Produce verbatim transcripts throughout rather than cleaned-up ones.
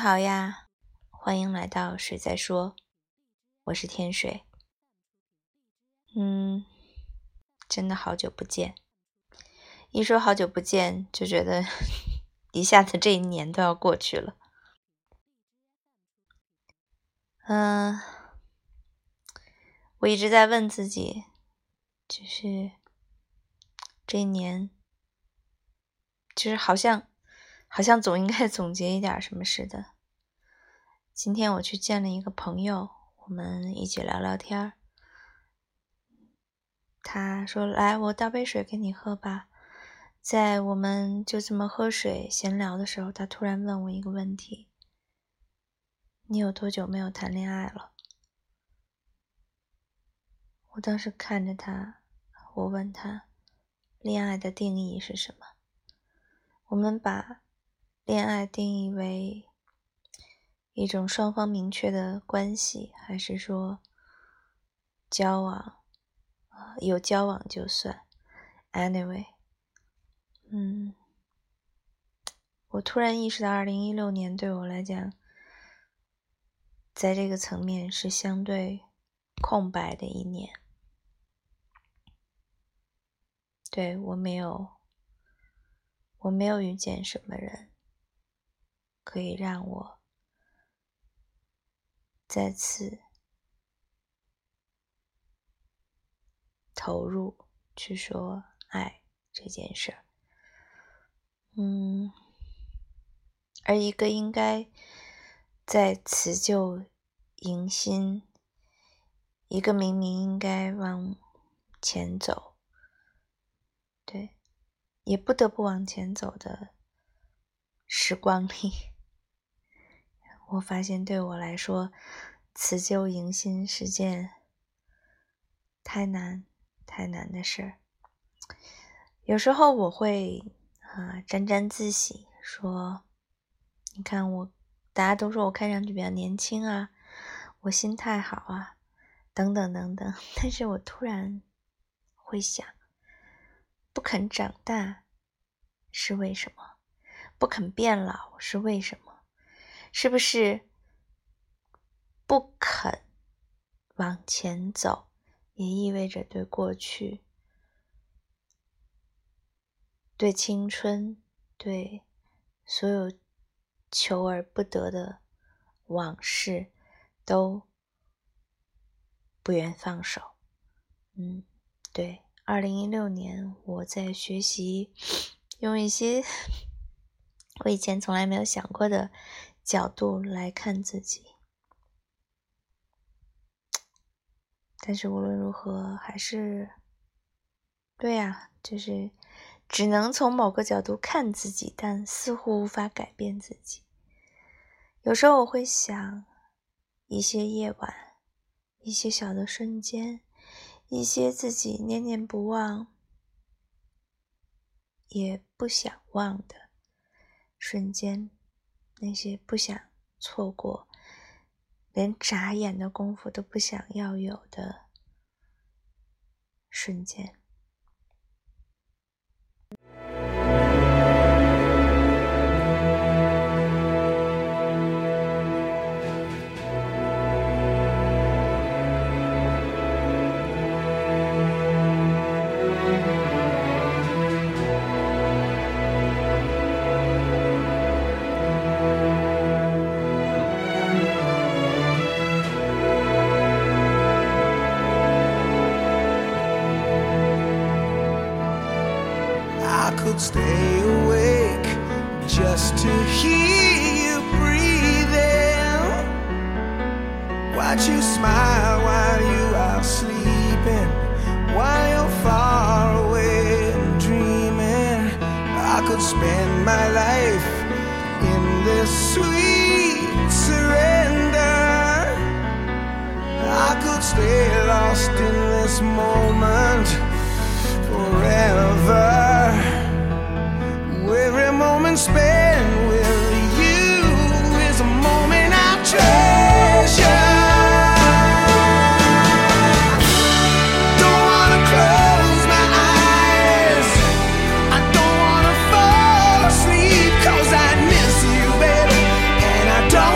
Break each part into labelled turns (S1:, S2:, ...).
S1: 好呀，欢迎来到水在说，我是天水。嗯，真的好久不见。一说好久不见，就觉得一下子这一年都要过去了。嗯、呃，我一直在问自己，就是这一年，就是好像好像总应该总结一点什么似的。今天我去见了一个朋友，我们一起聊聊天。他说：“来，我倒杯水给你喝吧。”在我们就这么喝水闲聊的时候，他突然问我一个问题：“你有多久没有谈恋爱了？”我当时看着他，我问他，恋爱的定义是什么？我们把恋爱定义为一种双方明确的关系，还是说交往？呃、有交往就算。Anyway， 嗯，我突然意识到二零一六年对我来讲，在这个层面是相对空白的一年。对，我没有我没有遇见什么人可以让我再次投入去说爱这件事儿。嗯，而一个应该在辞旧迎新，一个明明应该往前走，对，也不得不往前走的时光里，我发现对我来说，辞旧迎新是件太难太难的事儿。有时候我会啊沾沾自喜，说你看我，大家都说我看上去比较年轻啊，我心态好啊，等等等等。但是我突然会想，不肯长大是为什么？不肯变老是为什么？是不是不肯往前走，也意味着对过去、对青春、对所有求而不得的往事都不愿放手？嗯，对，二零一六年我在学习用一些我以前从来没有想过的角度来看自己。但是无论如何还是对啊，就是只能从某个角度看自己，但似乎无法改变自己。有时候我会想，一些夜晚，一些小的瞬间，一些自己念念不忘也不想忘的瞬间，那些不想错过，连眨眼的功夫都不想要有的瞬间。
S2: I could stay awake just to hear you breathing, watch you smile while you are sleeping, while you're far away and dreaming. I could spend my life in this sweet surrender. I could stay lost in this moment forever. Every moment spent with you is a moment I treasure. Don't wanna close my eyes, I don't wanna fall asleep, 'cause I miss you, baby, and I don't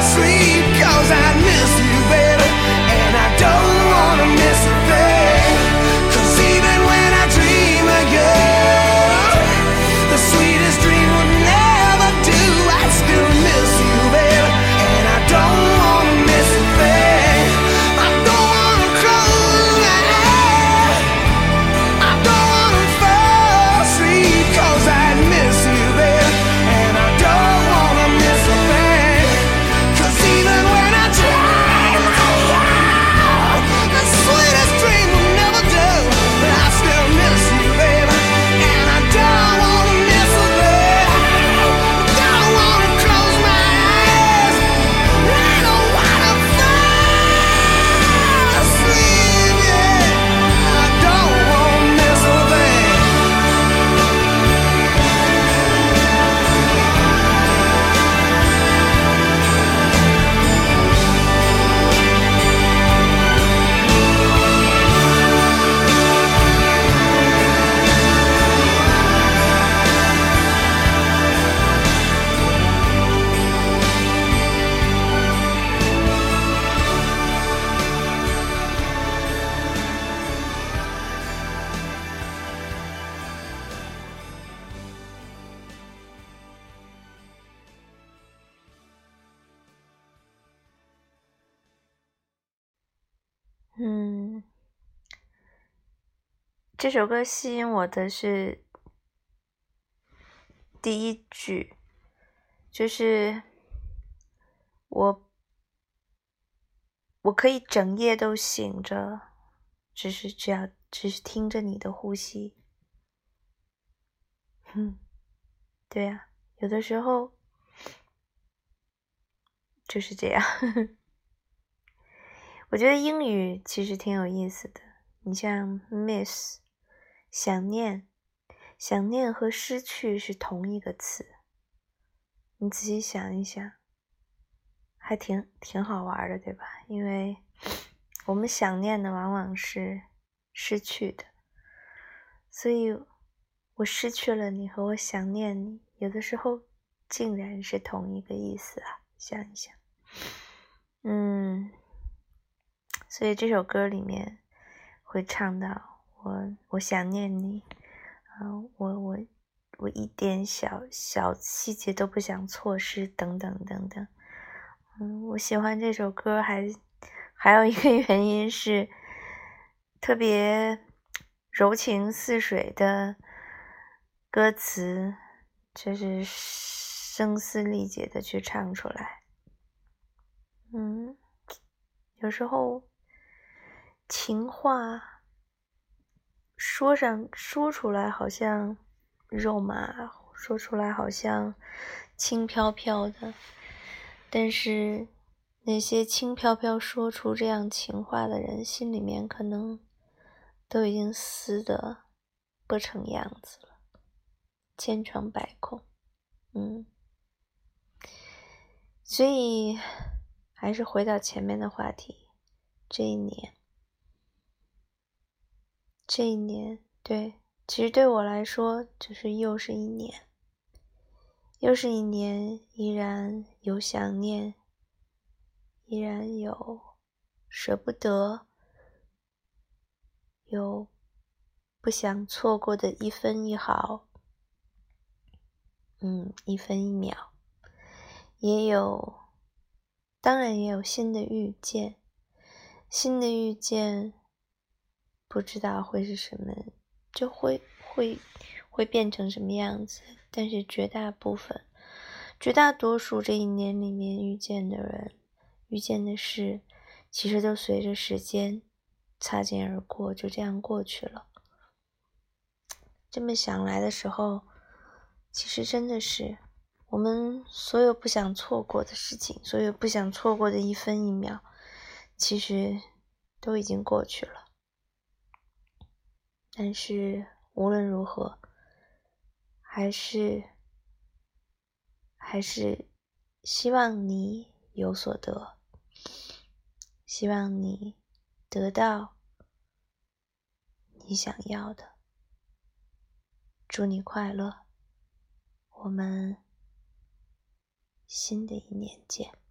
S2: asleep, 'cause I miss you, baby, and I don't wanna miss a thing. 'Cause even when I dream of you, the sweetest dream would never do. I still miss you, baby, and I don't wanna miss a thing. I don't wanna close my eyes, I don't wanna fall asleep, 'cause I miss you, baby, and I don't wanna miss a thing. 'Cause even when I dream of you, the sweetest dream will never do. But I still miss you, baby, and I don't wanna miss a thing. Don't wanna close my eyes, I don't wanna fall asleep, yeah. I don't wanna miss a thing.
S1: 嗯，这首歌吸引我的是第一句，就是我我可以整夜都醒着，只是只要只是听着你的呼吸。嗯，对呀，有的时候就是这样。我觉得英语其实挺有意思的，你像 miss 想念，想念和失去是同一个词，你仔细想一想，还挺挺好玩的，对吧？因为我们想念的往往是失去的，所以我失去了你和我想念你，有的时候竟然是同一个意思啊，想一想。嗯，所以这首歌里面会唱到我我想念你，啊、呃，我我我一点小小细节都不想错失，等等等等。嗯，我喜欢这首歌还还有一个原因是特别柔情似水的歌词，就是声嘶力竭的去唱出来。嗯，有时候情话说上说出来好像肉麻，说出来好像轻飘飘的，但是那些轻飘飘说出这样情话的人，心里面可能都已经撕得不成样子了，千疮百孔。嗯，所以还是回到前面的话题，这一年这一年对，其实对我来说就是又是一年又是一年，依然有想念，依然有舍不得，有不想错过的一分一毫，嗯，一分一秒，也有，当然也有新的遇见，新的遇见不知道会是什么，就会会会变成什么样子，但是绝大部分绝大多数这一年里面遇见的人遇见的事，其实都随着时间擦肩而过，就这样过去了。这么想来的时候，其实真的是我们所有不想错过的事情，所有不想错过的一分一秒，其实都已经过去了。但是无论如何，还是还是希望你有所得，希望你得到你想要的。祝你快乐，我们新的一年见。